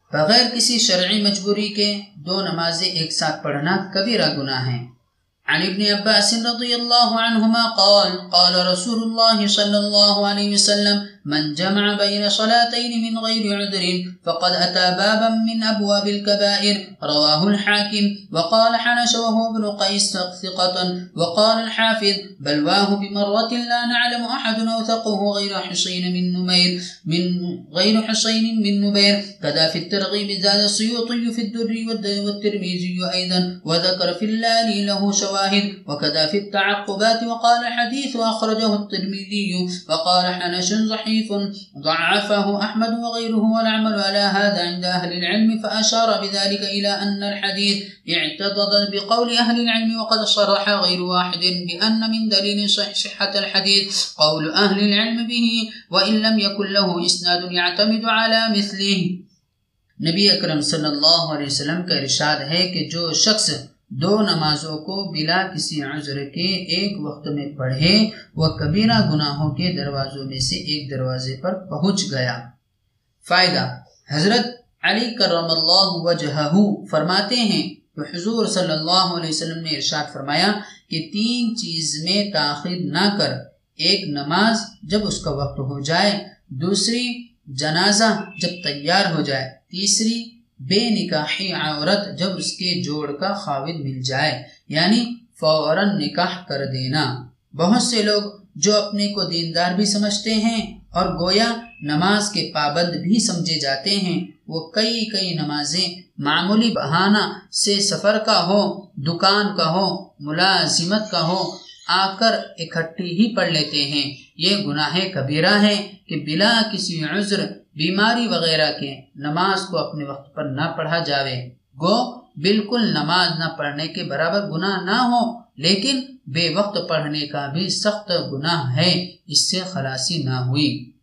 بغیر کسی شرعی مجبوری کے دو نمازیں ایک ساتھ پڑھنا کبیرہ گناہ ہے۔ عن ابن عباس رضی اللہ عنہما قال قال رسول اللہ صلی اللہ علیہ وسلم من جمع بين صلاتين من غير عذر فقد أتى بابا من أبواب الكبائر رواه الحاكم وقال حنش وهو ابن قيس ثقة وقال الحافظ بلواه بمروة لا نعلم أحد أوثقه غير حصين من نبير كذا في الترغيب زاد السيوطي في الدر والترمذي أيضا وذكر في اللالي له شواهد وكذا في التعقبات وقال حديث أخرجه الترمذي وقال حنش ضعيف ضعفه أحمد وغيره والعمل على هذا عند أهل العلم فأشار بذلك إلى أن الحديث اعتضد بقول أهل العلم وقد صرح غير واحد بأن من دليل صحة الحديث قول أهل العلم به وإن لم يكن له إسناد يعتمد على مثله۔ نبی اکرم صلی اللہ علیہ وسلم کا ارشاد ہے کہ جو شخص دو نمازوں کو بلا کسی عذر کے ایک وقت میں پڑھے وہ کبیرہ گناہوں کے دروازوں میں سے ایک دروازے پر پہنچ گیا۔ فائدہ، حضرت علی کرم اللہ وجہہ فرماتے ہیں کہ حضور صلی اللہ علیہ وسلم نے ارشاد فرمایا کہ تین چیز میں تاخیر نہ کر، ایک نماز جب اس کا وقت ہو جائے، دوسری جنازہ جب تیار ہو جائے، تیسری بے نکاحی عورت جب اس کے جوڑ کا خاوند مل جائے، یعنی فوراً نکاح کر دینا۔ بہت سے لوگ جو اپنے کو دیندار بھی سمجھتے ہیں اور گویا نماز کے پابند بھی سمجھے جاتے ہیں، وہ کئی نمازیں معمولی بہانہ سے سفر کا ہو، دکان کا ہو، ملازمت کا ہو، آ کر اکٹھی ہی پڑھ لیتے ہیں۔ یہ گناہ کبیرہ ہے کہ بلا کسی عذر، بیماری وغیرہ کے نماز کو اپنے وقت پر نہ پڑھا جاوے۔ گو بالکل نماز نہ پڑھنے کے برابر گناہ نہ ہو، لیکن بے وقت پڑھنے کا بھی سخت گناہ ہے، اس سے خلاصی نہ ہوئی۔